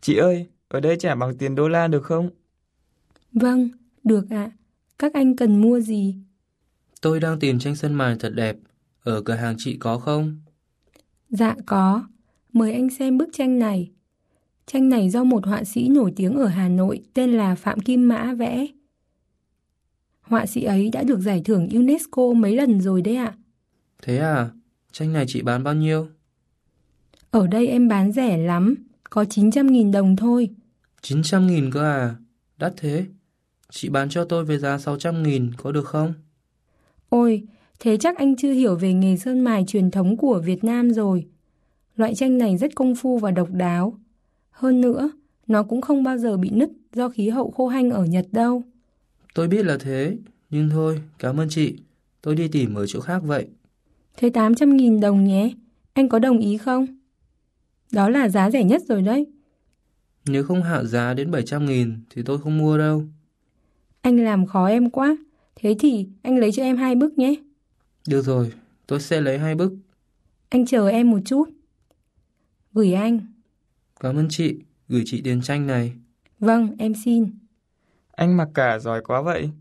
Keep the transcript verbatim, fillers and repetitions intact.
Chị ơi, ở đây trả bằng tiền đô la được không? Vâng, được ạ. Các anh cần mua gì? Tôi đang tìm tranh sơn mài thật đẹp. Ở cửa hàng chị có không? Dạ có. Mời anh xem bức tranh này. Tranh này do một họa sĩ nổi tiếng ở Hà Nội tên là Phạm Kim Mã vẽ. Họa sĩ ấy đã được giải thưởng UNESCO mấy lần rồi đấy ạ. Thế à? Tranh này chị bán bao nhiêu? Ở đây em bán rẻ lắm, có chín trăm nghìn đồng thôi. chín trăm nghìn cơ à? Đắt thế. Chị bán cho tôi với giá sáu trăm nghìn có được không? Ôi, thế chắc anh chưa hiểu về nghề sơn mài truyền thống của Việt Nam rồi. Loại tranh này rất công phu và độc đáo. Hơn nữa, nó cũng không bao giờ bị nứt do khí hậu khô hanh ở Nhật đâu. Tôi biết là thế. Nhưng thôi, cảm ơn chị. Tôi đi tìm ở chỗ khác vậy. Thế tám trăm nghìn đồng nhé, anh có đồng ý không? Đó là giá rẻ nhất rồi đấy. Nếu không hạ giá đến bảy trăm nghìn thì tôi không mua đâu. Anh làm khó em quá. Thế thì anh lấy cho em hai bức nhé. Được rồi, tôi sẽ lấy hai bức. Anh chờ em một chút. Gửi anh. Cảm ơn chị. Gửi chị tiền tranh này. Vâng, em xin. Anh mặc cả giỏi quá vậy.